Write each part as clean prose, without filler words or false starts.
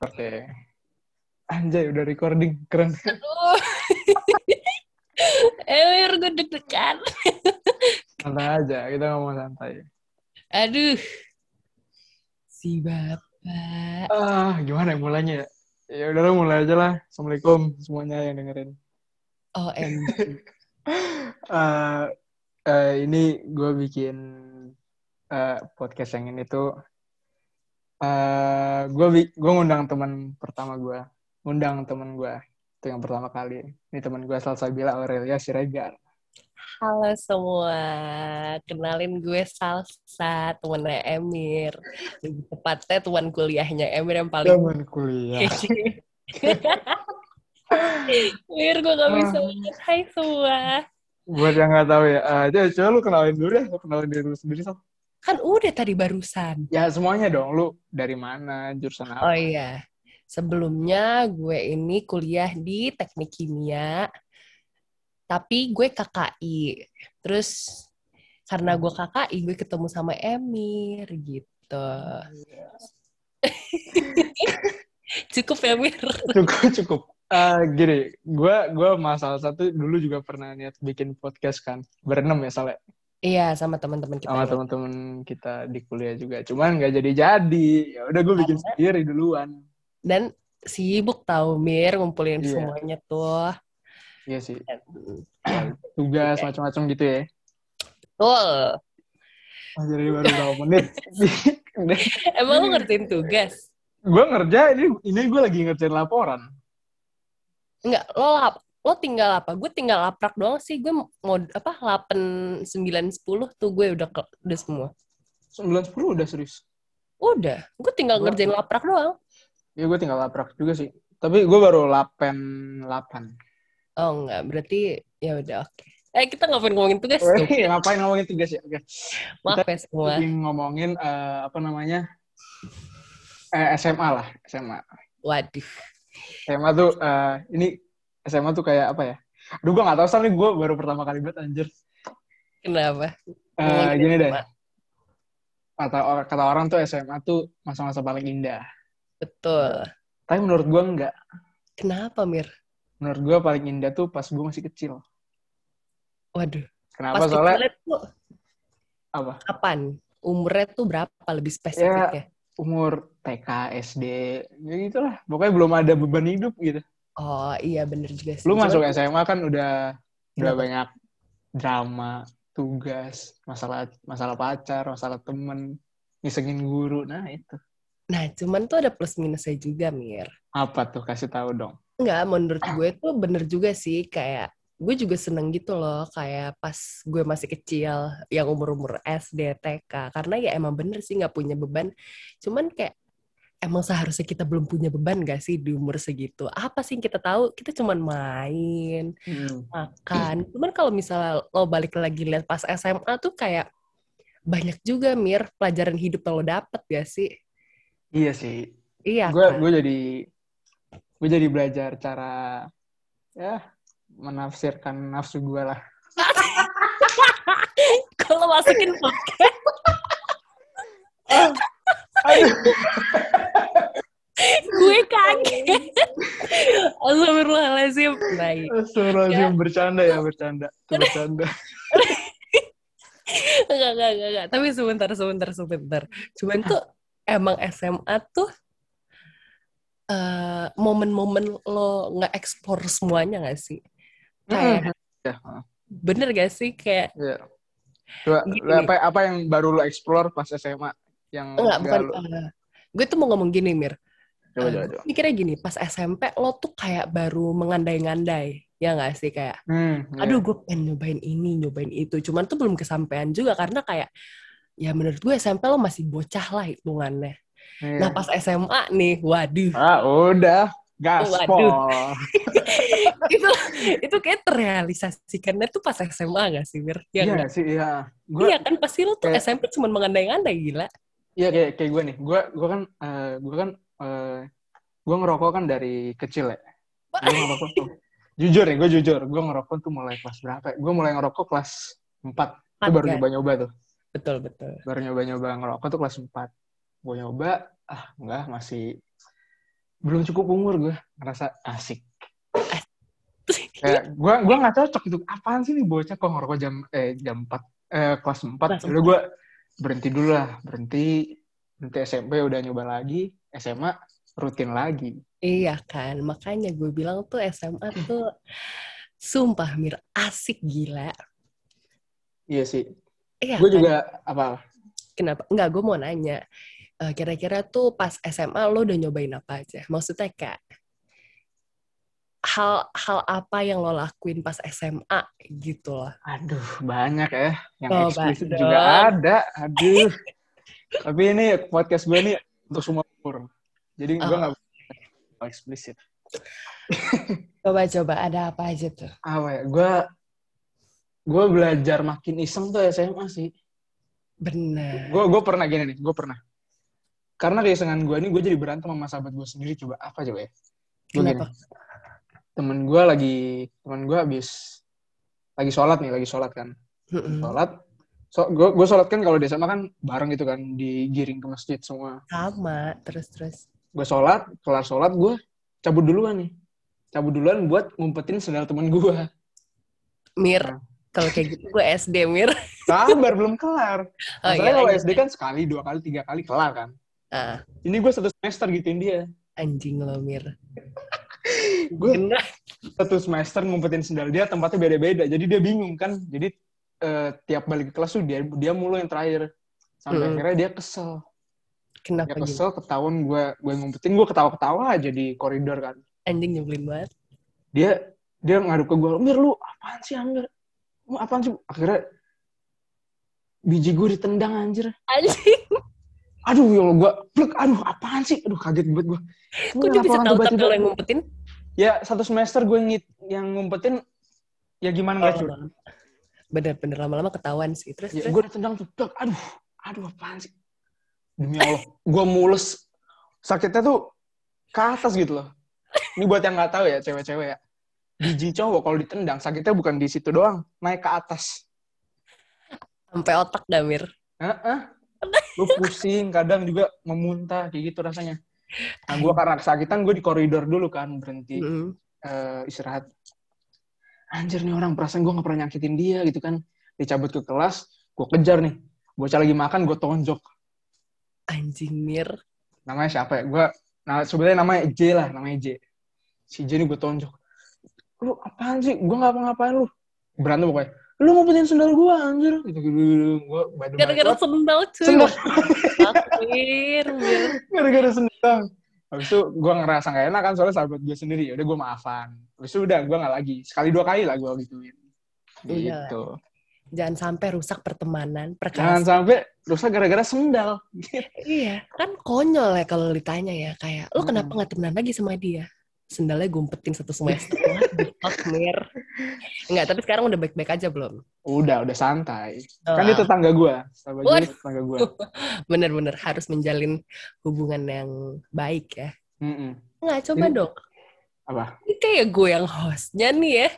Oke. Anjay, udah recording. Keren. Aduh. Emir, gue deg-degan. Santai aja, kita ngomong santai. Aduh, si bapak. Gimana ya mulainya ya? Ya udah mulai aja lah. Assalamualaikum semuanya yang dengerin. OMG. Eh, ini gue bikin podcast yang ini tuh. Gue ngundang teman pertama gue. Ngundang teman gue. Itu yang pertama kali. Ini teman gue Salsabila Aurelia Siregar. Halo semua. Kenalin gue Salsa, temennya Emir. Lebih tepatnya teman kuliahnya Emir yang paling... Teman kuliah. Emir, gue gak bisa banget. Hai semua. Buat yang nggak tahu ya, coba lu kenalin dulu deh. Lu kenalin diri lu sendiri, Sal. Kan udah tadi barusan. Ya semuanya dong, lu dari mana, jurusan Oh apa? iya. Sebelumnya gue ini kuliah di Teknik Kimia. Tapi gue KKI. Terus karena gue KKI, gue ketemu sama Emir gitu. Cukup ya, Mir? Cukup. Gini, gue masalah satu dulu juga pernah niat bikin podcast kan, berenam ya Sal, Iya, sama teman-teman kita sama yang lain. teman-teman kita di kuliah juga. Cuman nggak jadi. Ya udah gue bikin sendiri duluan. Dan sibuk tahu Mir ngumpulin Iya, semuanya tuh. iya sih. Ya, Tugas udah. macam-macam gitu ya. Betul. Jadi baru berapa menit. Emang lu ngertiin tugas? Gue ini gue lagi ngerjain laporan. Enggak, lo tinggal apa? Gue tinggal laprak doang sih. Gue mau apa 8, 9, 10 tuh gue udah semua. 9-10 udah serius. Udah, gue tinggal ngerjain laprak doang. Ya gue tinggal laprak juga sih. Tapi gue baru 8. Oh enggak, berarti ya udah oke. Kita ngapain ngomongin tugas tuh? Ngapain ngomongin tugas ya? Oke. Kita Maaf ya semua. lagi ngomongin apa namanya? SMA lah, SMA. Waduh. SMA tuh ini SMA tuh kayak apa ya? Aduh gue gak tau soalnya gue baru pertama kali banget anjir. Kenapa? Ngomongin Gini deh. SMA. Kata orang tuh SMA tuh masa-masa paling indah. Betul. Tapi menurut gue enggak. Kenapa, Mir? Menurut gue paling indah tuh pas gue masih kecil. Waduh. Kenapa? Pas Soalnya kecilnya tuh apa? kapan? Umurnya tuh berapa lebih Ya spesifiknya? umur TK, SD, ya gitulah. Pokoknya belum ada beban hidup gitu. Oh iya bener juga Lu sih. Cuman masuk SMA kan udah kenapa? banyak drama, tugas, masalah pacar, masalah temen, ngisengin guru. Nah, itu. Nah, cuman tuh ada plus minusnya juga, Mir. Apa tuh? Kasih tahu dong. Enggak, menurut gue tuh bener juga sih. Kayak gue juga seneng gitu loh. Kayak pas gue masih kecil, yang umur-umur SD, TK. Karena ya emang bener sih gak punya beban. Cuman kayak emang seharusnya kita belum punya beban gak sih di umur segitu? Apa sih yang kita tahu? Kita cuman main, makan. Cuman kalau misalnya lo balik lagi lihat pas SMA tuh kayak banyak juga Mir pelajaran hidup yang lo dapet gak sih? Iya sih. Iya Gue kan? gue jadi belajar cara ya menafsirkan nafsu gue lah. Kalau masukin podcast, Aduh. gue kaget. Astagfirullahaladzim. Naik. Astagfirullahaladzim, bercanda. Itu bercanda. Enggak. Tapi sebentar. Cuman tuh emang SMA tuh momen-momen lo nggak explore semuanya nggak sih? Kayak Ya. bener gak sih kayak Ya. Coba, gini. apa yang baru lo explore pas SMA yang Enggak, enggak bukan. lo Gue tuh mau ngomong gini, Mir. Gue coba. mikirnya gini, pas SMP lo tuh kayak baru mengandai-ngandai. Ya nggak sih? Kayak, aduh Ya. gue pengen nyobain ini, nyobain itu. Cuman tuh belum kesampaian juga karena kayak, ya menurut gue SMP lo masih bocah lah hitungannya. Nah Iya. pas SMA nih, waduh. Udah Waduh. gaspol. itu itu kayak terrealisasikannya tuh pas SMA nggak sih, Mir? Ya Iya nggak? sih, iya. Iya kan, pasti lo tuh Kayak SMP cuma mengandai-ngandai, gila. iya kayak gue nih. Gue ngerokok kan dari kecil ya. Gue ngerokok tuh. Jujur, gue ngerokok tuh mulai kelas berapa ya? Gue mulai ngerokok kelas 4. Itu Empat baru kan? nyoba-nyoba tuh. Betul. Baru nyoba-nyoba ngerokok tuh kelas 4. Gue nyoba, enggak, masih belum cukup umur gue ngerasa asik. Kayak gue nggak cocok itu. Apaan sih nih bocah kok ngerokok jam 4 kelas 4. Kelas Udah 4. gue berhenti dulu lah, berhenti SMP udah nyoba lagi, SMA rutin lagi. Iya kan, makanya gue bilang tuh SMA tuh sumpah Mir, asik gila. Iya sih. Iya Gue kan, juga apa? kenapa? Enggak, gue mau nanya. Kira-kira tuh pas SMA lo udah nyobain apa aja? Maksudnya kayak hal apa yang lo lakuin pas SMA gitu loh. Aduh, banyak ya. Yang Coba eksplisit juga dong. ada. Aduh. Tapi ini podcast gue nih untuk semua umur. Jadi gue Oh, nggak eksplisit. coba-coba ada apa aja tuh? Apa ya? Gue belajar makin iseng tuh SMA sih. Bener. Gue pernah gini nih. Gue pernah. Karena keisengan gue ini, gue jadi berantem sama sahabat gue sendiri. Coba apa coba ya? Gue gini. Kenapa? Temen gue lagi sholat kan. Mm-mm. Sholat. Gue sholat kan kalau di SMA kan bareng gitu kan. Digiring ke masjid semua. Sama, terus. Gue sholat, kelar sholat gue cabut duluan nih. Cabut duluan buat ngumpetin sendal temen gue. Mir, Nah, kalau kayak gitu gue SD, Mir. sabar, belum kelar. Oh Masalahnya iya, kalau lanjut. SD kan sekali, 2 kali, 3 kali kelar kan. Ah, Ini gue 1 semester gituin dia. anjing lo, Mir. Gue Bener. 1 semester ngumpetin sendal dia, tempatnya beda-beda. Jadi dia bingung kan. Jadi tiap balik ke kelas tuh dia mulu yang terakhir. Sampai akhirnya dia kesel. Dia Kenapa gitu? kesel, ketahuan gue ngumpetin, gue ketawa-ketawa aja di koridor kan. Anjing nyebelin banget. Dia ngaduk ke gue, Mir lu apaan sih Amir? Lu apaan sih? Akhirnya biji gue ditendang anjir. Anjing, Aduh ya Allah, gue plek, aduh apaan sih? Aduh kaget banget gue. kok dia bisa tahu tapi lo yang ngumpetin? Ya 1 semester gue yang ngumpetin, ya gimana nggak cuy. Bener-bener lama-lama ketahuan sih. Terus. Ya, gue ditendang tuh, plek, aduh apaan sih? Demi Allah, gue mules. Sakitnya tuh ke atas gitu loh. Ini buat yang nggak tahu ya, cewek-cewek ya. Biji cowok kalau ditendang, sakitnya bukan di situ doang, naik ke atas. Sampai otak dah, Mir. Lu pusing, kadang juga memuntah, kayak gitu rasanya. Nah, gue karena kesakitan, gue di koridor dulu kan, berhenti istirahat. Anjir nih orang, perasaan gue gak pernah nyakitin dia gitu kan. Dicabut ke kelas, gue kejar nih. Bocah lagi makan, gue tonjok. Anjing, Mir. Namanya siapa ya? Sebenarnya namanya J lah, namanya J. Si J ini gue tonjok. Lu apaan sih? Gue gak ngapain lu. Berantem pokoknya. Lu ngumpetin sendal gue, anjir. Gitu. Gue Gara-gara sendal, cuy. Sendal. Mir. Gara-gara sendal. Habis itu gue ngerasa gak enak kan, soalnya sahabat gue sendiri. Udah gue maafan. Habis itu udah, gue gak lagi. Sekali 2 kali lah gue gituin. Gitu. Jangan sampai rusak pertemanan, Jangan sampai rusak gara-gara sendal. Iya, kan konyol ya kalau ditanya ya. Kayak, lo kenapa gak temenan lagi sama dia? Sendalnya gumpetin 1 semester. What, Mir? Enggak, tapi sekarang udah baik-baik aja belum? Udah santai. Kan dia tetangga gue. Sahabat gue tetangga gue. Bener-bener harus menjalin hubungan yang baik ya. Nggak, coba ini, dong. Apa? Ini kayak gue yang hostnya nih ya.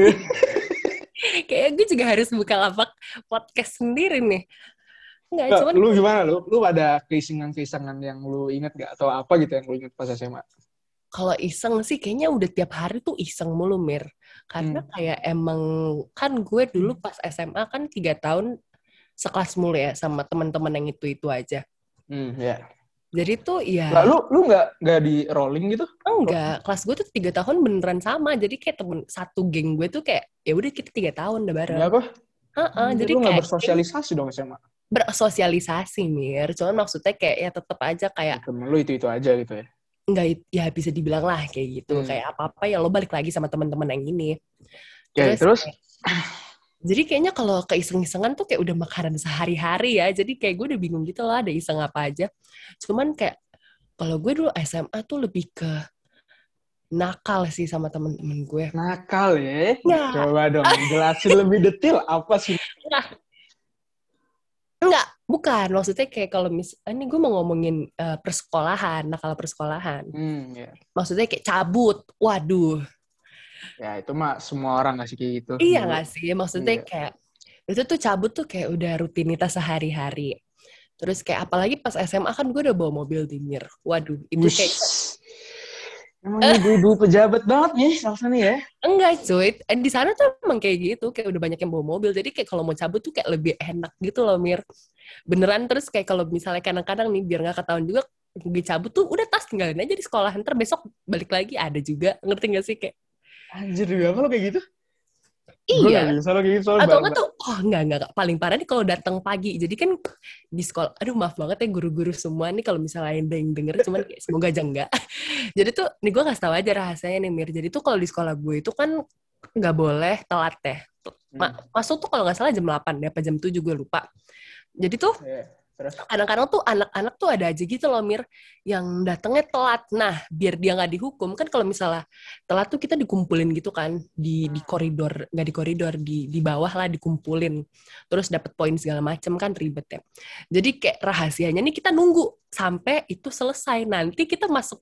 Kayak gue juga harus buka lapak podcast sendiri nih. Nggak, cuman... Lu gimana? Lu ada keisengan-keisengan yang lu inget gak? Atau apa gitu yang lu inget pas SMA? Kalau iseng sih kayaknya udah tiap hari tuh iseng mulu, Mir. Karena kayak emang kan gue dulu pas SMA kan 3 tahun sekelas mulu ya sama teman-teman yang itu aja. Ya. Jadi tuh ya. Lah, lu nggak di rolling gitu? Enggak, kelas gue tuh 3 tahun beneran sama. Jadi kayak satu geng gue tuh kayak ya udah kita 3 tahun udah bareng. Ya apa? Jadi lu nggak kayak bersosialisasi dong SMA? Bersosialisasi, Mir. Cuman maksudnya kayak ya tetap aja kayak temen lu itu aja gitu ya? Enggak, ya bisa dibilang lah kayak gitu. Kayak apa-apa ya lo balik lagi sama teman-teman yang ini. Terus? Jadi kayaknya kalau keiseng-isengan tuh kayak udah makanan sehari-hari ya. Jadi kayak gue udah bingung gitu lah ada iseng apa aja. Cuman kayak kalau gue dulu SMA tuh lebih ke nakal sih sama temen-temen gue. Nakal ya? Nggak. Coba dong jelasin lebih detail apa sih? Enggak, bukan. Maksudnya kayak kalau ini gue mau ngomongin persekolahan, nakal persekolahan. Maksudnya kayak cabut. Waduh. Ya itu mah semua orang gak sih kayak gitu. Iya gak sih? Maksudnya kayak itu tuh cabut tuh kayak udah rutinitas sehari-hari. Terus kayak apalagi pas SMA kan gue udah bawa mobil di Mir. Waduh, itu kayak Emang ibu-ibu pejabat banget nih Salsa nih ya. Enggak cuy, di sana tuh emang kayak gitu, kayak udah banyak yang bawa mobil, jadi kayak kalau mau cabut tuh kayak lebih enak gitu loh Mir. Beneran, terus kayak kalau misalnya kadang-kadang nih biar nggak ketahuan juga, gue cabut tuh udah tas tinggalin aja di sekolah, ntar besok balik lagi ada juga, ngerti gak sih kayak Anjir juga apa lo kayak gitu? Gue gak iya. bisa lo kayak gitu soalnya Atau enggak tuh, oh enggak, paling parah nih kalau datang pagi. Jadi kan di sekolah, aduh maaf banget ya guru-guru semua nih kalau misalnya ada yang denger, cuman kayak semoga aja enggak. Jadi tuh, nih gue kasih tahu aja rahasianya nih Mir. Jadi tuh kalau di sekolah gue itu kan nggak boleh telat ya. Masuk tuh kalau nggak salah jam 8 ya, apa jam 7 gue lupa. Jadi tuh Terus? kadang-kadang tuh anak-anak tuh ada aja gitu loh Mir, yang datangnya telat. Nah biar dia nggak dihukum kan, kalau misalnya telat tuh kita dikumpulin gitu kan di koridor, nggak di koridor, di bawah lah dikumpulin, terus dapat poin segala macem kan, ribet ya. Jadi kayak rahasianya nih kita nunggu sampai itu selesai, nanti kita masuk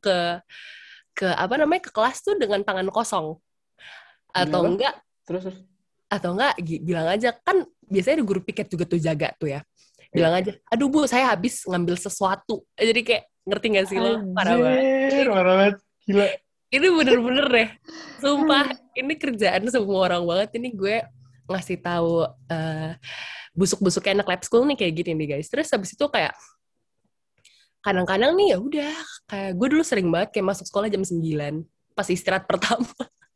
ke apa namanya, ke kelas tuh dengan tangan kosong, atau enggak terus atau enggak bilang aja kan, biasanya ada guru piket juga tuh jaga tuh ya, bilang aja, aduh Bu, saya habis ngambil sesuatu. Jadi kayak, ngerti gak sih lo? Parah banget. Parah banget. Gila. Ini bener-bener deh. Sumpah, ini kerjaan semua orang banget. Ini gue ngasih tahu busuk-busuknya anak lab school nih kayak gini nih guys. Terus habis itu kayak, kadang-kadang nih ya udah, kayak gue dulu sering banget kayak masuk sekolah jam 9 pas istirahat pertama.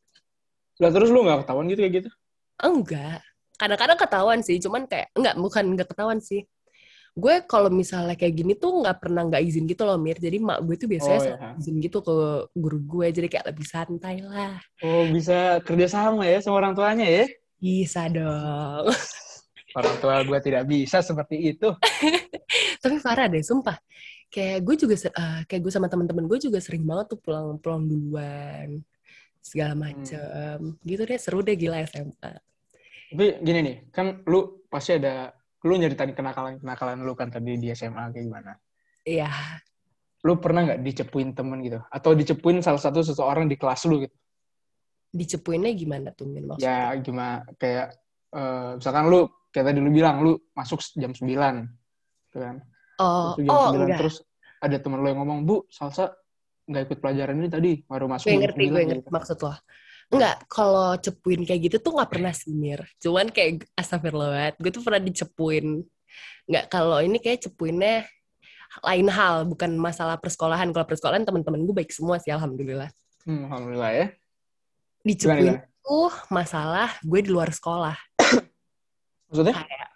Lah terus lu gak ketahuan gitu kayak gitu? Enggak. Kadang-kadang ketahuan sih, cuman kayak, bukan enggak ketahuan sih. Gue kalau misalnya kayak gini tuh nggak izin gitu loh Mir. Jadi mak gue tuh biasanya selalu izin gitu ke guru gue. Jadi kayak lebih santai lah. Oh, bisa kerja sama ya sama orang tuanya ya? Bisa dong. Orang tua gue tidak bisa seperti itu. Tapi parah deh, sumpah. Kayak gue juga, kayak gue sama teman-teman gue juga sering banget tuh pulang duluan. Segala macem. Gitu deh, seru deh, gila SMA. Tapi gini nih, kan lu pasti ada, lu nyeritain kenakalan lu kan tadi di SMA kayak gimana? Iya. Lu pernah nggak dicepuin temen gitu? Atau dicepuin salah satu seseorang di kelas lu gitu? Dicepuinnya gimana tuh Min maksudnya? Ya gimana, kayak misalkan lu, kayak tadi lu bilang, lu masuk jam 9. Gitu kan? Terus jam 9, Enggak. terus ada temen lu yang ngomong, Bu, Salsa nggak ikut pelajaran ini tadi, baru masuk jam 9. Gue ngerti gitu. maksud lo. Enggak, kalau cepuin kayak gitu tuh nggak pernah sih, Mir. Cuman kayak astagfirullah, gue tuh pernah dicepuin. Enggak, kalau ini kayak cepuinnya lain hal, bukan masalah persekolahan. Kalau persekolahan teman-teman gue baik semua sih, alhamdulillah. Alhamdulillah ya. Dicepuin tuh masalah gue di luar sekolah. Maksudnya? Kayak,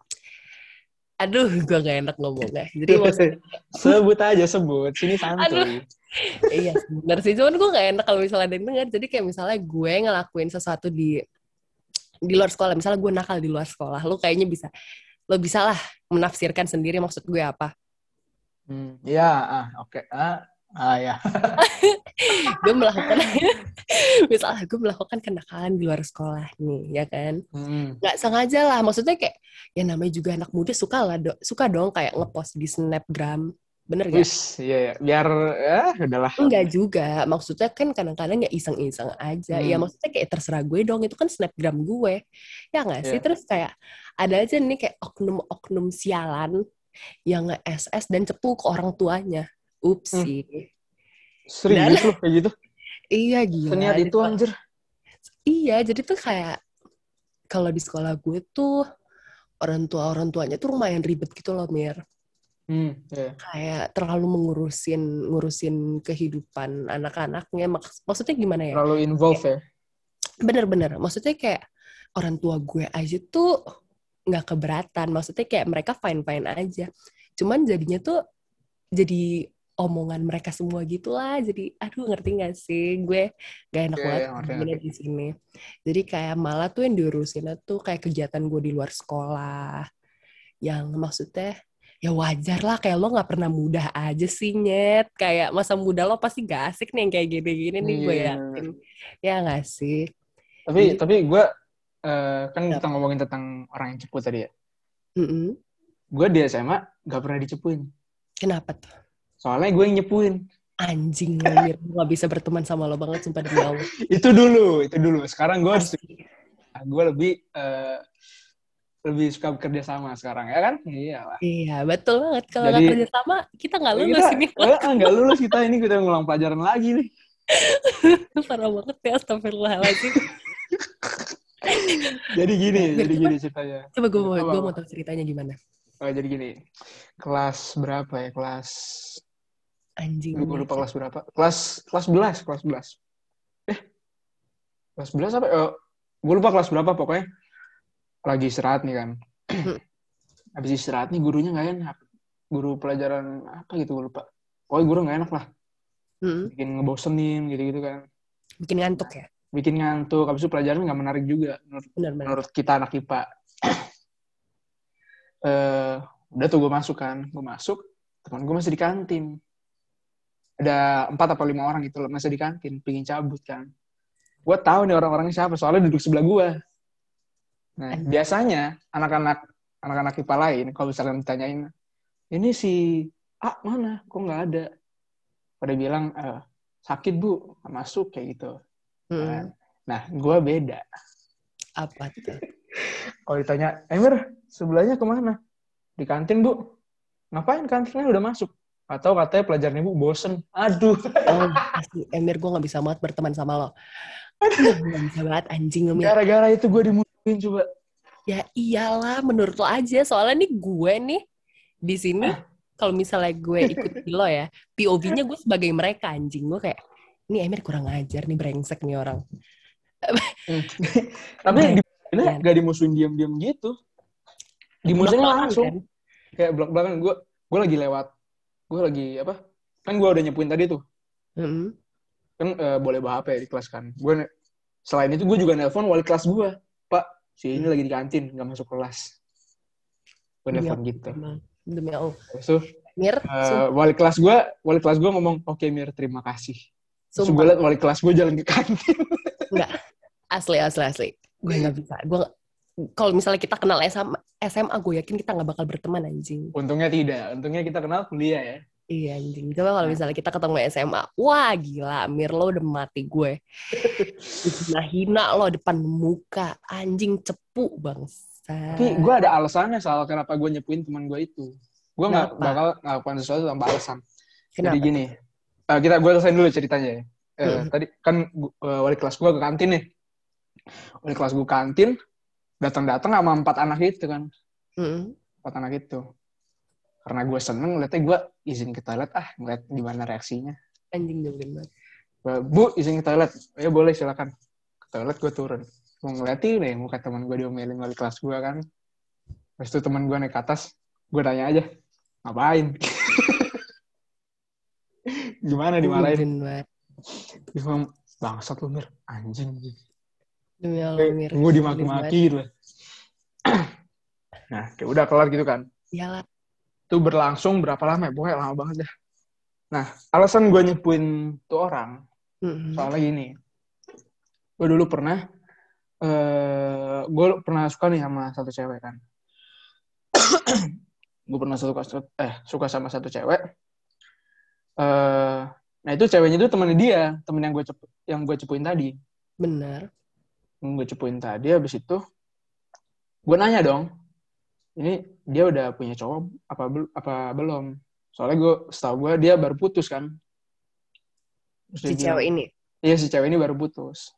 aduh, gue gak enak ngomongnya. Jadi maksudnya, sebut. Sini santuy. aduh, iya bener sih. Cuman gue gak enak kalau misalnya ada yang denger. Jadi kayak misalnya gue ngelakuin sesuatu di luar sekolah. Misalnya gue nakal di luar sekolah. Lo kayaknya lo bisa lah menafsirkan sendiri maksud gue apa. Ya, oke. Ya. Gue melakukan, misalnya gue melakukan kenakalan di luar sekolah nih, ya kan? Nggak sengaja lah, maksudnya kayak, ya namanya juga anak muda suka dong kayak ngepost di Snapgram, bener gak? Iya, biar udahlah. Enggak juga, maksudnya kan kadang-kadang ya iseng-iseng aja, ya maksudnya kayak terserah gue dong, itu kan Snapgram gue, ya nggak sih? Terus kayak ada aja nih kayak oknum-oknum sialan yang nge-SS dan cepu ke orang tuanya. Upsi. Serius loh kayak gitu? Iya gila. Seniat itu anjir. Iya, jadi tuh kayak kalau di sekolah gue tuh orang tuanya tuh lumayan ribet gitu loh, Mir. Kayak terlalu ngurusin kehidupan anak-anaknya. Maksudnya gimana ya? Terlalu involve ya? Bener-bener. Maksudnya kayak orang tua gue aja tuh nggak keberatan. Maksudnya kayak mereka fine-fine aja. Cuman jadinya tuh jadi omongan mereka semua gitulah. Jadi aduh, ngerti gak sih? Gue gak enak banget di sini. Jadi kayak malah tuh yang diurusin tuh kayak kegiatan gue di luar sekolah. Yang maksudnya ya wajar lah, kayak lo gak pernah mudah aja sih, Nyet. Kayak masa muda lo pasti gak asik nih yang kayak gini-gini nih, gue yakin. Ya gak sih? Tapi gue kan kita ngomongin tentang orang yang cepu tadi ya. Gue di SMA gak pernah dicepuin. Kenapa tuh? Soalnya gue yang nyepuin. Anjing lo, Mir. Gue gak bisa berteman sama lo banget, sumpah demi Allah. Itu dulu. Sekarang gue lebih suka bekerja sama sekarang, ya kan? Iyalah. Iya, betul banget. Kalau nggak kerja sama, kita nggak lulus ini. Nggak lulus kita ngulang pelajaran lagi nih. Parah banget ya, astagfirullahaladzim. Jadi gini ceritanya. Coba gue mau tahu ceritanya gimana. Jadi gini, kelas berapa ya? Anjing. Gue lupa kelas berapa. Kelas 11. Kelas 11 apa? Gue lupa kelas berapa, pokoknya lagi istirahat nih kan. Habis istirahat nih gurunya nggak enak. Guru pelajaran apa gitu gue lupa. Pokoknya guru nggak enak lah. Bikin ngebosenin gitu-gitu kan. Bikin ngantuk ya? Bikin ngantuk. Habis itu pelajaran nggak menarik juga menurut kita anak IPA. Udah tuh gue masuk kan. Gue masuk, teman gue masih di kantin. Ada 4 atau 5 orang gitu loh masih di kantin. Pingin cabut kan. Gue tahu nih orang-orangnya siapa. Soalnya duduk sebelah gue. Nah, biasanya anak-anak IPA lain, kalau misalnya ditanyain, ini si A mana? Kok nggak ada? Pada bilang, sakit bu, nggak masuk kayak gitu. Nah, gue beda. Apa tuh? Kalau ditanya, Emir, sebelahnya kemana? Di kantin bu. Ngapain kantinnya udah masuk? Atau katanya pelajaran ibu bosen. Aduh. Asli, Emir, gue gak bisa banget berteman sama lo. Gak bisa banget, anjing. Gara-gara itu gue dimusuhin coba. Ya iyalah, menurut lo aja. Soalnya nih gue nih, di sini, kalau misalnya gue ikut lo ya, POV-nya gue sebagai mereka, anjing. Gue kayak, ini Emir kurang ajar nih, brengsek nih orang. Tapi gak dimusuhin diam-diam gitu. Dimusuhin langsung. Kan? Kayak belak-belakan. Gue lagi lewat. Gue lagi apa? Kan gue udah nyepuin tadi tuh. Kan boleh bawa HP di kelas kan. Gue selain itu gue juga nelpon wali kelas gue. Pak, si ini lagi di kantin, gak masuk kelas. Gue nelpon gitu. Demi Allah. So, Mir, wali kelas gue ngomong, oke Mir, terima kasih. Terus gue liat wali kelas gue jalan ke kantin. Enggak, asli. Gue gak bisa. Kalau misalnya kita kenal SMA, gue yakin kita gak bakal berteman, anjing. Untungnya tidak. Untungnya kita kenal kuliah ya. Iya, anjing. Coba kalau misalnya kita ketemu SMA, wah gila, Mir, lo udah mati gue. Hina lo depan muka, anjing cepu bangsa. Tapi gue ada alasannya soal kenapa gue nyepuin teman gue itu. Gue gak bakal ngelakukan sesuatu tanpa alasan. Kenapa? Jadi gini, gue selesain dulu ceritanya ya. Tadi kan wali kelas gue ke kantin nih. Wali kelas gue kantin, datang sama 4 anak itu kan. 4 anak itu. Karena gue seneng, ngeliatnya gue izin ke toilet, ngeliat gimana reaksinya. Anjing nyebelin banget. Bu, izin ke toilet. Ya boleh, silakan. Ke toilet gue turun. Gue ngeliatin nih, muka teman gue diomelin wali kelas gue kan. Terus itu teman gue naik ke atas, gue tanya aja, ngapain? Gimana dimarahin? Dia bilang, bangsat lu Mir, anjing. Demi Allah, Mir. Gue dimaki-maki gitu. Nah, kayak udah kelar gitu kan. Iyalah. Itu berlangsung berapa lama ya? Pokoknya lama banget dah. Nah, alasan gue nyepuin tuh orang, soalnya gini. Gue dulu pernah suka nih sama satu cewek kan. Gue pernah suka sama satu cewek. Nah itu ceweknya itu temen dia, temen yang gue cepuin tadi. Benar. Yang gue cepuin tadi, habis itu gue nanya dong, ini dia udah punya cowok apa belum? Soalnya setahu gue dia baru putus kan. Si cewek ini? Iya, si cewek ini baru putus.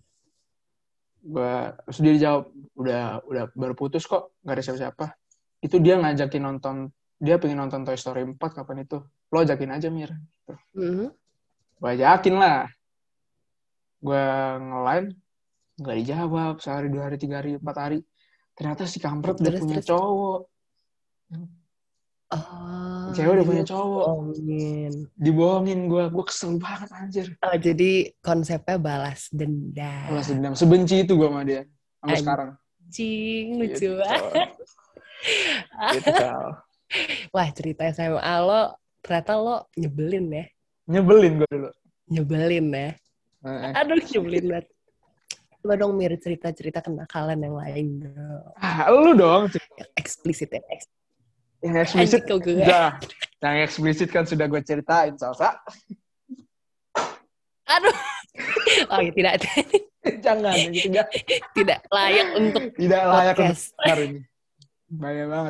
Terus dia dijawab, udah baru putus kok, gak ada siapa-siapa. Itu dia ngajakin nonton, dia pengen nonton Toy Story 4 kapan itu. Lo ajakin aja Mir. Gitu. Gue ajakin lah. Gue nge-line, gak dijawab. Sehari, 2 hari, 3 hari, 4 hari. Ternyata si kampret udah punya cowok. Cewek udah punya cowok. Dibohongin gue kesel banget anjir. Jadi konsepnya balas dendam. Balas dendam, sebenci itu gue sama dia sampai sekarang. Anjing, lucu banget. Gitu Kal. Wah, cerita SMA lo ternyata lo nyebelin ya. Nyebelin gue dulu. Nyebelin ya. Aduh, nyebelin banget. Coba dong Mir, cerita-cerita kenakalan yang lain dong. Lu dong. Yang eksplisit ya. Yang eksplisit udah. Yang eksplisit kan sudah gue ceritain, Salsa. Aduh. Oh ya, tidak. Jangan, gitu enggak. Tidak layak untuk tidak layak podcast. Untuk hari ini. Bahaya banget.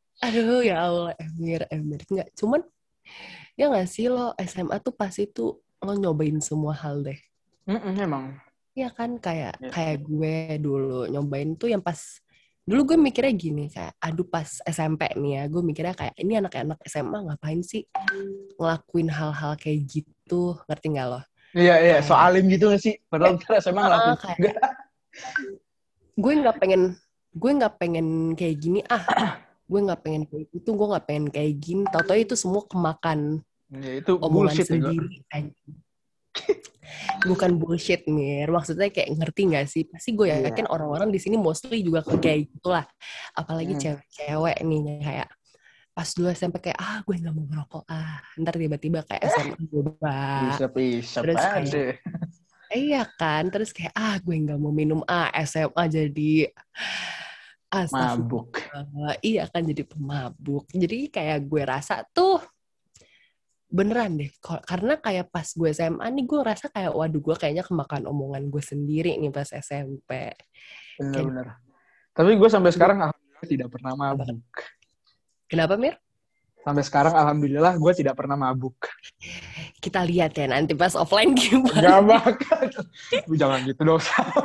Aduh, ya Allah, Emir. Enggak, cuman ya nggak sih lo SMA tuh pasti tuh lo nyobain semua hal deh. Emang. Iya kan, kayak gue dulu nyobain tuh yang pas dulu gue mikirnya gini, kayak aduh pas SMP nih ya, gue mikirnya kayak ini anak-anak SMA ngapain sih ngelakuin hal-hal kayak gitu, ngerti nggak lo? Iya, so Kayak alim gitu gak sih? Padahal kita SMA ngelakuin juga. kayak gue nggak pengen kayak gini, gue nggak pengen kayak gitu, gue nggak pengen kayak gini, tau-tau itu semua kemakan Ya, itu omongan bullshit ya. sendiri aja. Bukan bullshit Mir, maksudnya kayak ngerti nggak sih? Pasti gue yakin orang-orang di sini mostly juga kayak gitulah. Apalagi cewek-cewek nih kayak pas dulu SMP kayak gue nggak mau ngerokok ntar tiba-tiba kayak SMA coba, Isep terus aja. kayak iya kan, terus kayak gue nggak mau minum SMA jadi Mabuk. iya kan jadi pemabuk. Jadi kayak gue rasa tuh beneran deh, karena kayak pas gue SMA nih gue rasa kayak waduh gue kayaknya kemakan omongan gue sendiri nih pas SMP. Bener-bener. Tapi gue sampai sekarang alhamdulillah tidak pernah mabuk. Kenapa Mir? Sampai sekarang alhamdulillah gue tidak pernah mabuk. Kita lihat ya nanti pas offline gimana. Gak bakal. Jangan gitu dong.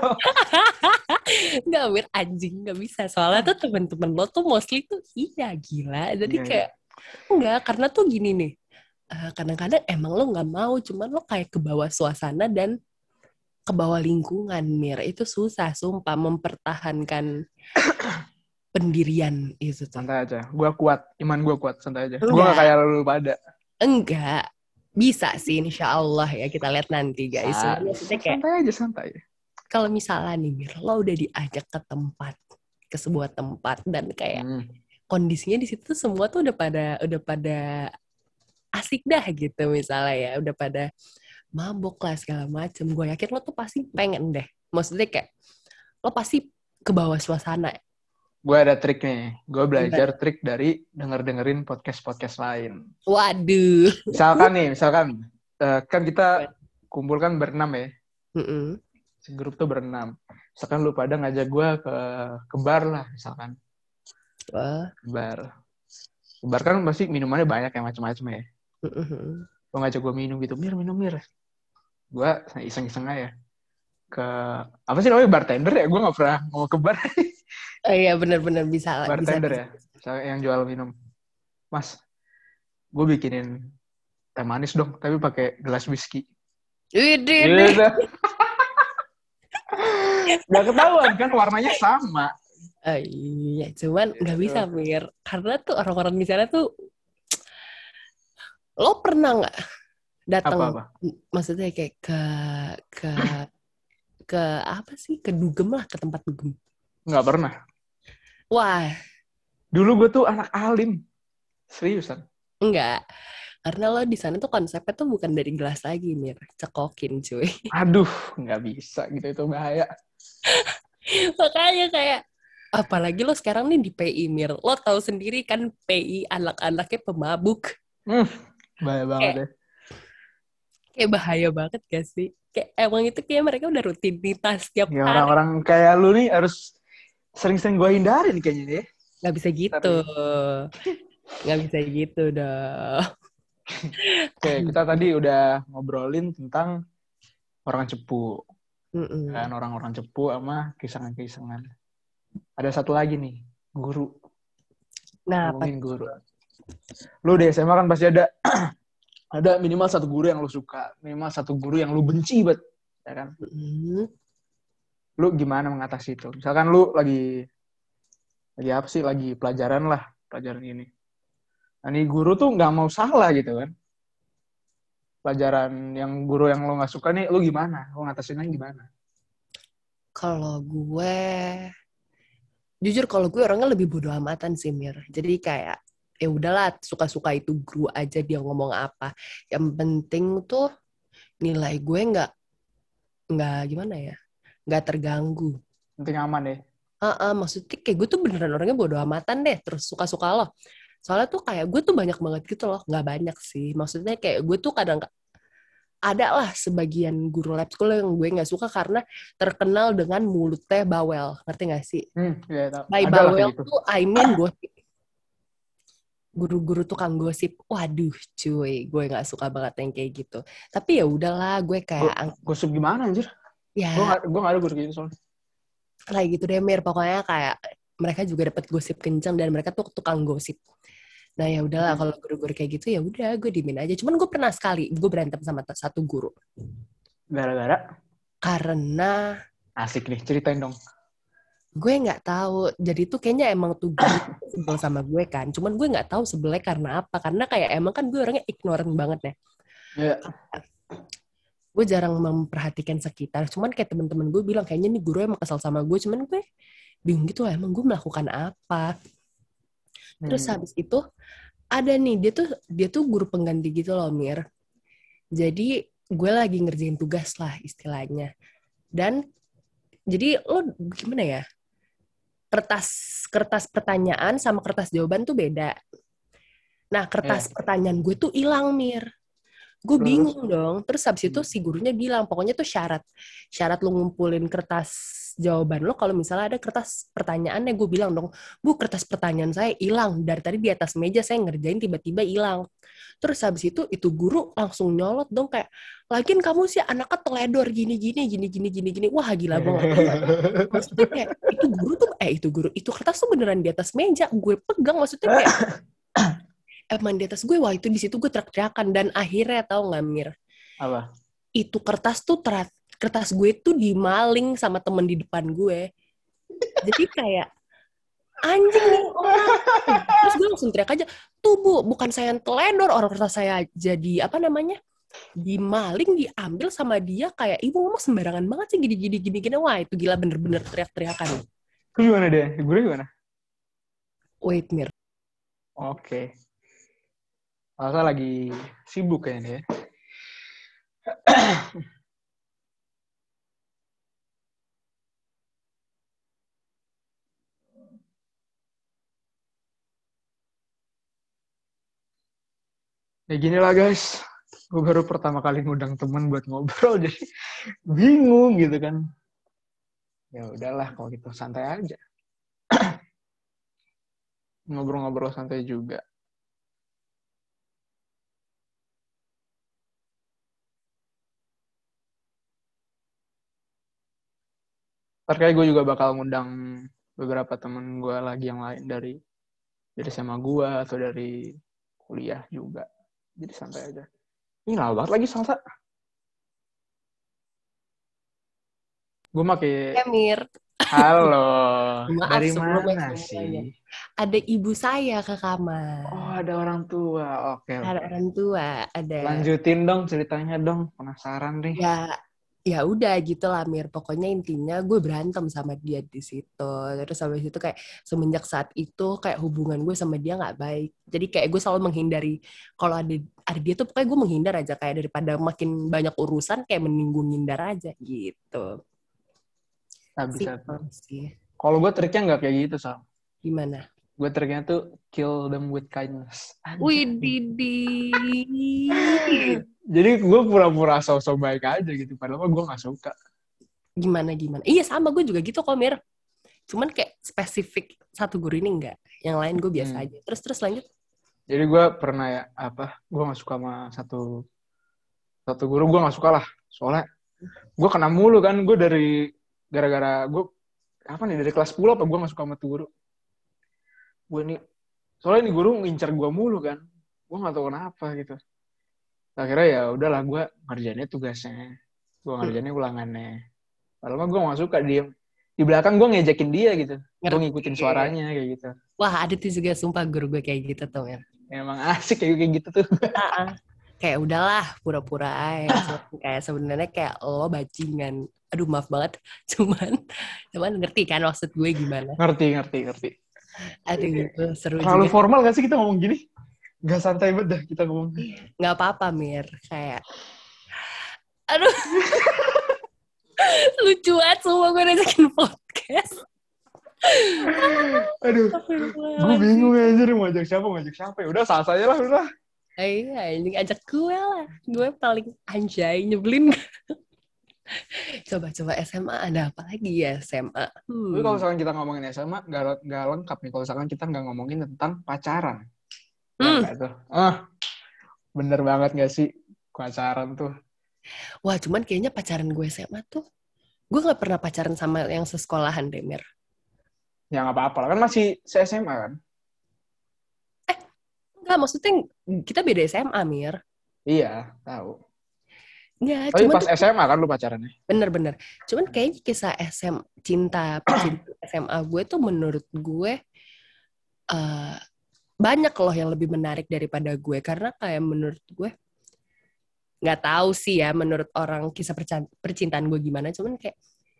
Nggak Mir, anjing nggak bisa. Soalnya tuh temen-temen lo tuh mostly tuh iya gila. Jadi kayak enggak, karena tuh gini nih. Kadang-kadang emang lo nggak mau, cuman lo kayak ke bawah suasana dan ke bawah lingkungan Mir. Itu susah sumpah mempertahankan pendirian itu tuh. Santai aja, gue kuat, iman gue kuat, santai aja. Gue gak kayak lu pada. Enggak, bisa sih insya Allah ya, kita lihat nanti guys. Santai aja, santai. Kalau misalnya nih Mir, lo udah diajak ke sebuah tempat dan kayak kondisinya di situ semua tuh udah pada asik dah gitu misalnya ya, udah pada mabok lah segala macem. Gue yakin lo tuh pasti pengen deh. Maksudnya kayak lo pasti ke bawah suasana. Gue ada trik nih. Gue belajar trik dari dengerin podcast lain. Waduh. Misalkan kan kita kumpul kan berenam ya. Segrup tuh berenam. Misalkan lu pada ngajak gue ke bar lah misalkan. Bar kan pasti minumannya banyak ya, macam-macam ya. Lo ngajak gue minum gitu, minum. Gue iseng-iseng aja. Apa sih namanya, bartender ya? Gue gak pernah mau ke bar. Iya benar-benar bisa. Bartender ya, yang jual minum. Mas, gue bikinin teh manis dong, tapi pakai gelas whisky. Widih. Gak ketahuan kan, warnanya sama. Iya, cuman nggak bisa Mir, karena tuh orang-orang di sana tuh, lo pernah nggak datang? Maksudnya kayak ke apa sih? Ke dugem lah, ke tempat dugem. Nggak pernah. Wah. Dulu gue tuh anak alim. Seriusan. Enggak. Karena lo di sana tuh konsepnya tuh bukan dari gelas lagi, Mir. Cekokin, cuy. Aduh, nggak bisa gitu, itu bahaya. Makanya kayak, apalagi lo sekarang nih di PI, Mir. Lo tahu sendiri kan PI anak-anaknya pemabuk. Bahaya banget ya. Kayak bahaya banget gak sih? Kayak emang itu kayak mereka udah rutinitas tiap hari. Orang-orang kayak lu nih harus sering-sering gue hindarin kayaknya deh. Gak bisa gitu. Gak bisa gitu dong. Oke, kita tadi udah ngobrolin tentang orang cepu. Dan orang-orang cepu sama kisangan-kisangan. Ada satu lagi nih, guru. Nah, ngomongin guru. Lu di SMA kan pasti ada ada minimal satu guru yang lu suka, minimal satu guru yang lu benci banget, ya kan? Lu gimana mengatasi itu? Misalkan lu lagi apa sih? Lagi pelajaran ini. Nah, nih guru tuh nggak mau salah gitu kan? Pelajaran yang guru yang lu nggak suka nih, lu gimana? Lu ngatasinnya gimana? Kalau gue, jujur kalau gue orangnya lebih bodo amatan sih Mir. Jadi kayak ya udahlah, suka-suka itu guru aja dia ngomong apa. Yang penting tuh nilai gue nggak gimana ya, nggak terganggu. Penting aman deh. Maksudnya kayak gue tuh beneran orangnya bodo amatan deh. Terus suka-suka loh. Soalnya tuh kayak gue tuh banyak banget gitu loh. Nggak banyak sih. Maksudnya kayak gue tuh kadang ada lah sebagian guru lab school yang gue nggak suka karena terkenal dengan mulutnya bawel. Ngerti nggak sih? Ya, By bawel tuh I mean gue guru-guru tukang gosip. Waduh, cuy, gue nggak suka banget yang kayak gitu. Tapi ya udahlah, gue kayak Gosip gimana anjir? ya Gue gak ada guru gitu soalnya. kayak gitu deh Mir. Pokoknya kayak mereka juga dapat gosip kencang dan mereka tuh tukang gosip. Nah ya udahlah kalau guru-guru kayak gitu ya udah gue diemin aja. Cuman gue pernah sekali gue berantem sama satu guru. Gara-gara? Karena Asik nih, ceritain dong. gue nggak tahu. Jadi tuh kayaknya emang tuh guru sebel sama gue kan. Cuman gue nggak tahu sebelnya karena apa. Karena kayak emang kan gue orangnya ignorant banget ya. Ya. Gue jarang memperhatikan sekitar. Cuman kayak temen-temen gue bilang kayaknya nih guru emang kesal sama gue. Cuman gue bingung gitu lah. Emang gue melakukan apa? Terus habis itu ada nih dia tuh guru pengganti gitu loh Mir. Jadi gue lagi ngerjain tugas lah istilahnya. Dan jadi lo gimana ya? Kertas pertanyaan sama kertas jawaban tuh beda. Nah, kertas pertanyaan gue tuh hilang, Mir. Gue bingung dong. Terus habis itu si gurunya bilang, pokoknya tuh syarat lo ngumpulin kertas jawaban lo kalau misalnya ada kertas pertanyaannya. Gue bilang dong, Bu, kertas pertanyaan saya hilang. Dari tadi di atas meja saya ngerjain tiba-tiba hilang. Terus habis itu guru langsung nyolot dong kayak, lagian kamu sih anaknya teledor gini. Wah gila gue nggak tahu. Maksudnya kayak itu kertas tuh beneran di atas meja. Gue pegang maksudnya kayak emang di atas gue. Wah itu di situ gue teriak-teriakan dan akhirnya tahu nggak Mir? Apa? Itu kertas gue tuh dimaling sama temen di depan gue. Jadi kayak anjing nih orang. Terus gue langsung teriak aja, tuh Bu, bukan saya yang teledor, orang kertas saya jadi apa namanya? Dimaling, diambil sama dia. Kayak ibu ngomong sembarangan banget sih gini. Wah itu gila bener-bener teriak-teriakan. Itu gimana deh? Guru gimana? Wait Mir. Oke. Masa lagi sibuk kayaknya ya. Ya gini lah guys. Gue baru pertama kali ngundang temen buat ngobrol jadi bingung gitu kan. Ya udahlah kalau gitu santai aja. Ngobrol-ngobrol santai juga. Terkait gue juga bakal ngundang beberapa temen gue lagi yang lain dari SMA gue atau dari kuliah juga. Jadi santai aja. Ini lama banget lagi salsa. Gue pakai Mir. halo. Maaf Dari sebelumnya mana semuanya. sih? Ada ibu saya ke kamar. Oh, ada orang tua. Oke. Ada orang tua, ada. Lanjutin dong ceritanya dong. Penasaran nih. Ya udah gitu lah Mir. Pokoknya intinya gue berantem sama dia di situ. Terus habis itu kayak semenjak saat itu kayak hubungan gue sama dia nggak baik. Jadi kayak gue selalu menghindari kalau ada dia tuh pokoknya gue menghindar aja kayak daripada makin banyak urusan kayak mending gue ngindar aja gitu. Nah, bisa. Sih. Kalau gue triknya nggak kayak gitu, Sal. Gimana? Gue triknya tuh kill them with kindness. Wih, Didi. Jadi gue pura-pura so-so baik aja gitu. Padahal gue gak suka. Gimana? Iya sama gue juga gitu kok Mir. Cuman kayak spesifik satu guru ini enggak. Yang lain gue biasa aja. Terus lanjut. Jadi gue pernah gue gak suka sama satu guru, gue gak suka lah. Soalnya gue kena mulu kan. Gue gara-gara gue dari kelas 10 apa gue gak suka sama tuh guru. Soalnya ini guru ngincar gue mulu kan. Gue gak tahu kenapa gitu. Akhirnya ya udahlah gue ngerjainnya tugasnya. Gue ngerjainnya ulangannya. Padahal mah gue gak suka diem. Di belakang gue ngejekin dia gitu. Gue ngikutin suaranya kayak gitu. Wah ada tuh juga sumpah guru gue kayak gitu tuh ya. Emang asik kayak gitu tuh. Kayak udahlah pura-pura aja. Kayak sebenarnya kayak lo bajingan. Aduh maaf banget. Cuman ngerti kan maksud gue gimana? Ngerti. Aduh gitu seru terlalu juga. Formal gak sih kita ngomong gini? Gak santai banget dah kita ngomong. Gak apa-apa Mir. Kayak aduh. Lucu banget semua gue ngajakin podcast. Aduh. Gue bingung aja mau ngajak siapa. Ya udah sah saja lah udah. Iya, ini ajak gue lah. Gue paling anjay nyebelin. Coba SMA ada apa lagi ya SMA? Tapi kalau misalkan kita ngomongin SMA gak lengkap nih. Kalau misalkan kita nggak ngomongin tentang pacaran. Ya nggak tuh. Bener banget gak sih pacaran tuh? Wah, cuman kayaknya pacaran gue SMA tuh, gue nggak pernah pacaran sama yang sesekolahan deh, Mir. Ya nggak apa-apa lah, kan masih se-SMA kan? Enggak, maksudnya kita beda SMA, Mir. Iya, tahu. Enggak, Tapi cuman pas tuh SMA kan lu pacarannya? bener-bener. Cuman kayaknya kisah percintaan SMA gue tuh menurut gue eh, banyak loh yang lebih menarik daripada gue. Karena kayak menurut gue, nggak tahu sih ya menurut orang kisah percintaan gue gimana. Cuman kayak,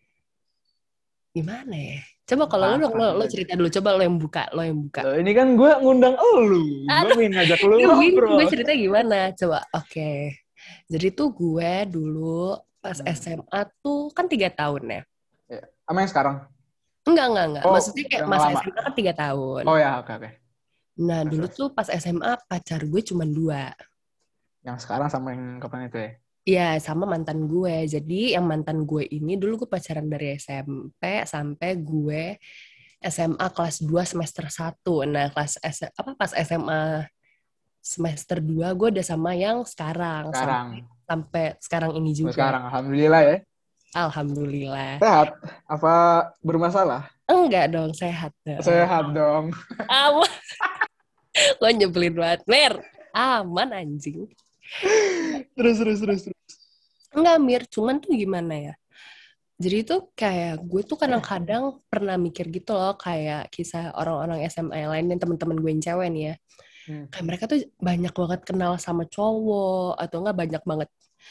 gimana ya? Coba kalau lo dong, Apa lo cerita dulu. Coba lo yang buka, lo yang buka. Loh, ini kan gue ngundang elu. Gue Aduh, pengen ngajak lu bingung gue ngobrol. cerita gimana. Coba, oke. Jadi tuh gue dulu pas Hmm. SMA tuh kan 3 tahun ya. Ya. Sama yang sekarang? Enggak. Oh, Maksudnya kayak yang masa lama. SMA kan 3 tahun. Oh ya, oke, oke. Nah, Terus, dulu terus. tuh pas SMA pacar gue cuma 2. Yang sekarang sama yang kapan itu ya? Iya, sama mantan gue. Jadi yang mantan gue ini dulu gue pacaran dari SMP sampai gue SMA kelas 2 semester 1. Nah, pas SMA semester 2 gue udah sama yang sekarang sampai Sekarang. sampai sekarang ini Oh, juga. sekarang, alhamdulillah ya. Alhamdulillah. Sehat? Apa bermasalah? Enggak dong, sehat dong. Sehat dong. Aman. Lo nyebelin banget, Mer. Aman anjing. Terus. Enggak, Mir. Cuman tuh gimana ya? Jadi tuh kayak gue tuh kadang-kadang pernah mikir gitu loh, kayak kisah orang-orang SMA yang lain dan teman-teman gue yang cewek nih ya. Kayak mereka tuh banyak banget kenal sama cowok atau enggak banyak banget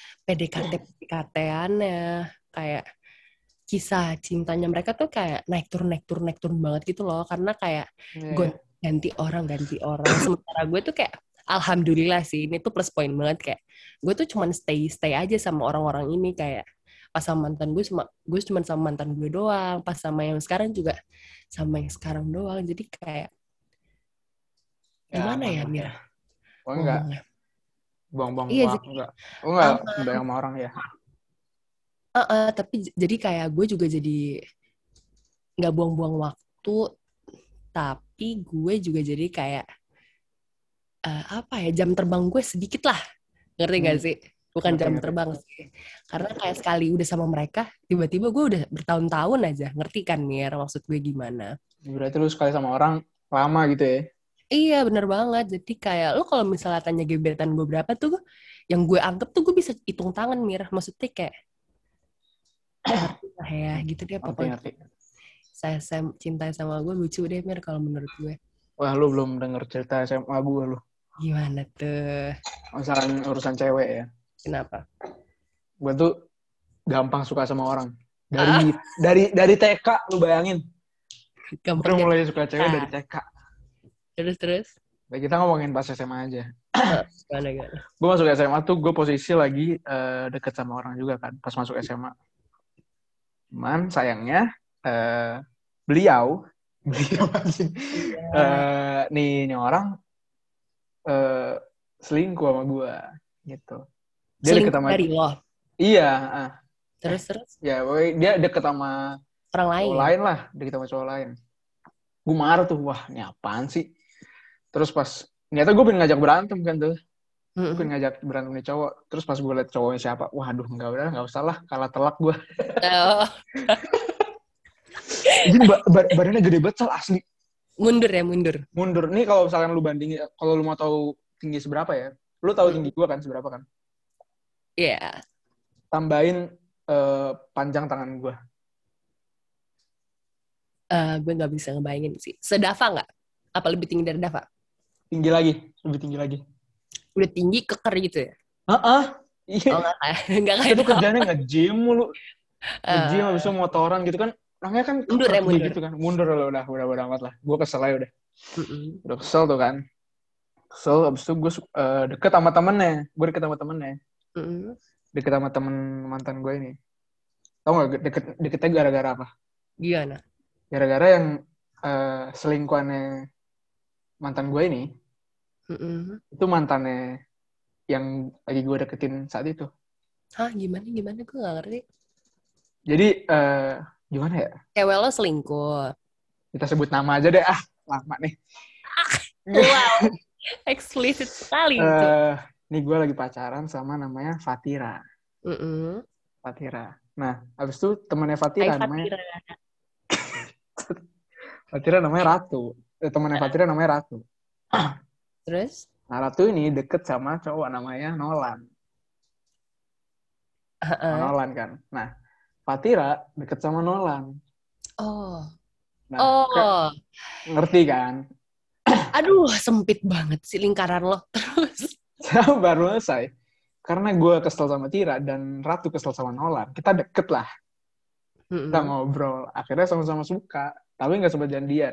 PDKT-PDKT-annya. Kayak kisah cintanya mereka tuh kayak naik turun banget gitu loh, karena kayak Yeah. ganti orang. Sementara gue tuh kayak alhamdulillah sih, ini tuh plus point banget, kayak gue tuh cuman stay aja sama orang-orang ini. Kayak pas sama mantan gue cuma sama mantan gue doang, pas sama yang sekarang juga sama yang sekarang doang. Jadi kayak Ya, gimana aman ya, lah Mir, ya. Oh enggak, ngomongnya? buang-buang Iya, waktu jadi enggak. Oh enggak, aman. udah sama orang ya. Tapi jadi kayak gue juga jadi nggak buang-buang waktu, tapi gue juga jadi kayak apa ya, jam terbang gue sedikit lah, ngerti gak Hmm, sih? Bukan ngerti, jam ngerti. terbang sih, karena kayak sekali udah sama mereka tiba-tiba gue udah bertahun-tahun aja, ngerti kan Mir maksud gue gimana? Berarti lu sekali sama orang lama gitu ya. Iya bener banget, jadi kayak lo kalau misalnya tanya gebetan gue berapa tuh, yang gue anggap tuh gue bisa hitung tangan Mir, maksudnya kayak ngerti lah ya gitu deh Ngerti, pokoknya. ngerti. Saya cinta sama gue lucu deh Mir kalau menurut gue. Wah, lu belum denger cerita SMA gue lu. Gimana tuh? Masalah urusan cewek ya. Kenapa? Gue tuh gampang suka sama orang. Ah, Dari TK, lu bayangin. Gue gampang mulai jatuh suka cewek dari cinta. TK. Terus. Nah, kita ngomongin pas SMA aja. Gimana? Gue masuk SMA tuh gue posisi lagi deket sama orang juga kan. Pas masuk SMA. Cuman sayangnya beliau masih Iya. nih orang selingkuh sama gue gitu. Dia deket Selingkuh sama dari lo. iya, Terus ya pokoknya dia deket sama orang cowok lain. lain lah, deket sama cowok lain. Gue marah tuh, wah ini apaan sih? Terus pas ternyata gue pengen ngajak berantem kan tuh. Gue pengen ngajak berantem nih cowok. Terus pas gue liat cowoknya siapa, waduh nggak usah lah, kalah telak gue. Oh, Jadi badannya gede banget asli. mundur ya, mundur. Mundur. Nih kalau misalkan lu bandingin, kalau lu mau tahu tinggi seberapa ya, lu tahu tinggi gue kan seberapa kan? Iya. Tambahin panjang tangan gue. Gue nggak bisa ngebayangin sih. Sedafa nggak? Apa lebih tinggi dari Dava? Tinggi lagi, lebih tinggi lagi. Udah tinggi keker gitu ya? Iya. Oh nggak kayak nggak Kita kayak tuh Dava. kerjanya nge-gym mulu. Nge-gym Eh, habis itu motoran gitu kan. Orangnya kan mundur keker ya, mundur. gitu kan. Mundur lah udah amat lah. Gue kesel aja udah. Mm-mm. Udah kesel tuh kan. Kesel habis itu gue deket sama temennya. Gue deket sama temennya. Mm-mm. Deket sama temen mantan gue ini. Tau gak deketnya gara-gara apa? Gimana? Gara-gara yang selingkuhannya mantan gue ini. Mm-mm. Itu mantannya yang lagi gue deketin saat itu. Hah, gimana? Gue nggak ngerti. Jadi gimana ya? Cewek lo selingkuh. Kita sebut nama aja deh. Lama nih. Wow. Eksplisit sekali itu. Nih gue lagi pacaran sama namanya Fatira. Fatira. Nah, habis itu temannya Fatira namanya Fatira namanya Ratu. Temannya Fatira namanya Ratu. Terus? Nah, Ratu ini deket sama cowok namanya Nolan. Nolan kan. Nah, Fatira deket sama Nolan. Oh. Nah, ngerti kan? Aduh, sempit banget sih lingkaran lo. Terus? Baru selesai. Karena gue kesel sama Tira dan Ratu kesel sama Nolan. Kita deket lah. Kita ngobrol. Akhirnya sama-sama suka. Tapi nggak sempat janjian.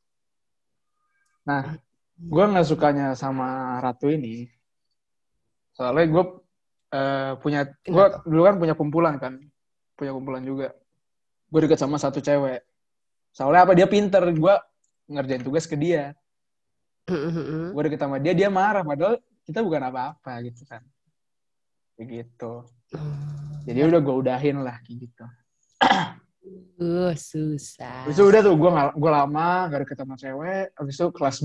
Nah, gue nggak sukanya sama Ratu ini. Soalnya gue gue dulu kan punya kumpulan kan. Punya kumpulan juga. Gue deket sama satu cewek. Soalnya apa? Dia pinter. Gue ngerjain tugas ke dia. Gue deket sama dia, dia marah. Padahal kita bukan apa-apa gitu kan. Kayak gitu. Jadi udah gue udahin lah kayak gitu. Susah. Habis itu udah tuh gue lama gak deket sama cewek. Habis itu kelas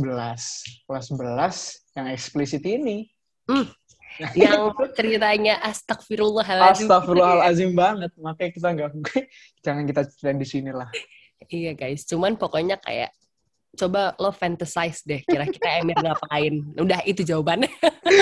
11 yang eksplisit ini. Yang ceritanya astagfirullahaladzim. Astagfirullahaladzim banget. Makanya kita jangan kita ceritain di sini lah. Iya guys, cuman pokoknya kayak coba lo fantasize deh, kira-kira Emir ngapain. Udah itu jawabannya.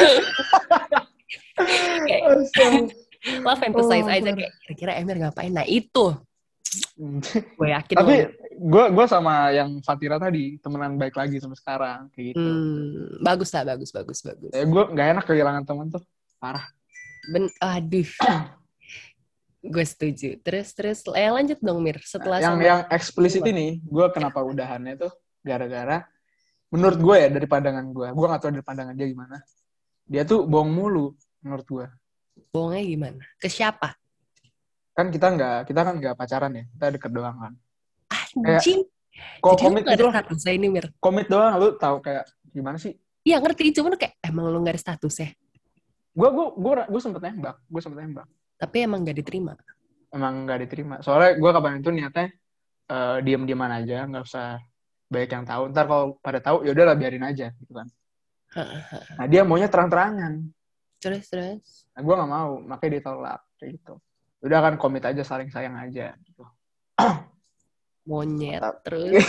Lo fantasize aja kayak kira-kira Emir ngapain. Nah itu. Gue yakin. Tapi gue sama yang Fatira tadi temenan baik lagi sampai sekarang kayak gitu. Bagus lah, bagus. Gue nggak enak kehilangan teman tuh, parah. Aduh. Gue setuju. Terus lanjut dong Mir. Setelah yang eksplisit ini, gue kenapa udahannya tuh gara-gara menurut gue ya dari pandangan gue nggak tahu dari pandangan dia gimana. Dia tuh bohong mulu menurut gue. Bohongnya gimana? Ke siapa? Kan kita kan nggak pacaran ya, kita deket doang kan. Anjing. Kok komit gitu lah. Ini Mir. Komit doang, lu tahu kayak gimana sih? Iya ngerti, cuman kayak emang lu nggak ada status ya? Gue sempet nembak. Tapi emang nggak diterima. Emang nggak diterima. Soalnya gue kapan itu niatnya diem-dieman aja, nggak usah banyak yang tahu. Ntar kalau pada tahu ya udahlah biarin aja gitu kan. Nah dia maunya terang-terangan. Terus. Nah gue nggak mau, makanya dia tolak kayak gitu. Udah kan komit aja, saling sayang aja gitu. Monyet terus.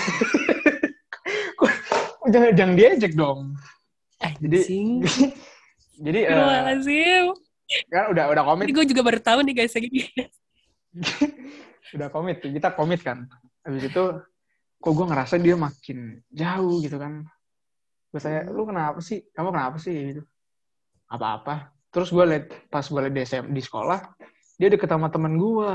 jangan diejek dong. Anjing. Jadi kan udah komit. Ini gue juga baru tahu nih guys lagi. Udah komit, kita komit kan. Habis itu kok gue ngerasa dia makin jauh gitu kan. Gue tanya, lu kenapa sih? Kamu kenapa sih gitu? Apa-apa. Terus gue liat pas gue liat di sekolah, dia deket sama temen gue.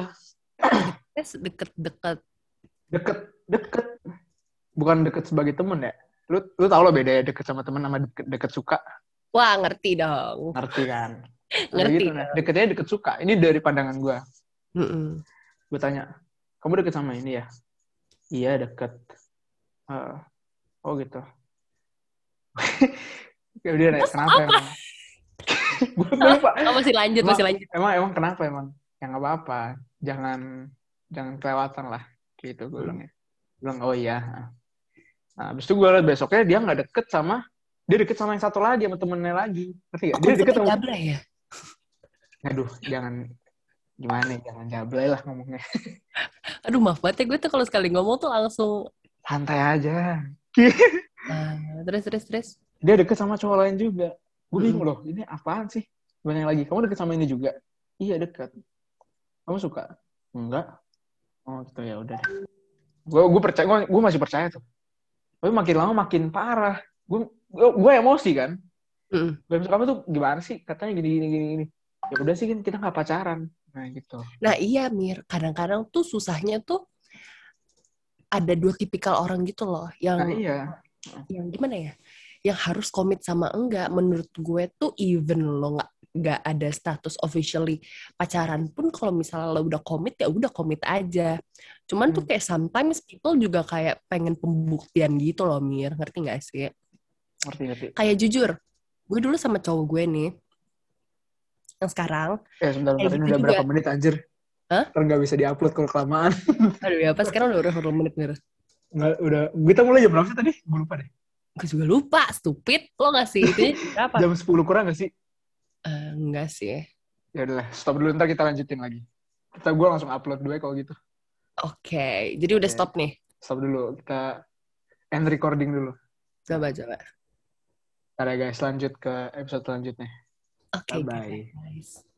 Deket. Bukan deket sebagai temen ya. Lu tau lo bedanya deket sama temen sama deket suka. Wah, ngerti dong. Ngerti kan? Ngerti. Gitu, nah. Deketnya deket suka. Ini dari pandangan gue. Gue tanya, kamu deket sama ini ya? Iya, deket. Oh gitu. Ya udah, kenapa emang? Gue lupa. Masih lanjut. Emang kenapa emang? Ya nggak apa-apa. Jangan kelewatan lah. Gitu gue bilangnya. Bilang, oh iya. Nah, habis itu gue liat besoknya dia nggak deket sama yang satu lagi, sama temennya lagi. Ngerti gak? Dia deket sama... jablay ya? Aduh, jangan jablay lah ngomongnya. Aduh, maaf banget ya, gue tuh kalau sekali ngomong tuh langsung... Santai aja. Terus. Dia deket sama cowok lain juga. Gue bingung loh, ini apaan sih? Banyak lagi, kamu deket sama ini juga? Iya, deket. Kamu suka? Enggak. Oh gitu, ya udah. Gue percaya, gue masih percaya tuh. Tapi makin lama makin parah. Gue emosi kan. Kamu tuh gimana sih? Katanya gini. Ya udah sih, kita nggak pacaran. Nah gitu. Nah iya Mir, kadang-kadang tuh susahnya tuh ada dua tipikal orang gitu loh. Yang gimana ya? Yang harus komit sama enggak. Menurut gue tuh even lo nggak ada status officially pacaran pun, kalau misalnya lo udah komit ya udah komit aja. Cuman tuh kayak sometimes people juga kayak pengen pembuktian gitu loh Mir, ngerti nggak sih? Ngerti. Kayak jujur, gue dulu sama cowok gue nih yang sekarang. Sebentar ini udah berapa menit anjir? Ntar nggak bisa diupload kalau kelamaan. Aduh ya, pas sekarang udah berapa menit Mir? Nggak, udah. Kita mulai jam berapa sih tadi? Gue lupa deh. Gue juga lupa, stupid. Lo ngasih itu berapa? Jam 10 kurang gak sih? Enggak sih. Ya udahlah, stop dulu, ntar kita lanjutin lagi. Gue langsung upload dulu ya kalau gitu. Oke, jadi udah stop nih. Stop dulu, kita end recording dulu. Coba. Ntar ya guys, lanjut ke episode selanjutnya. Oke, Bye-bye. guys.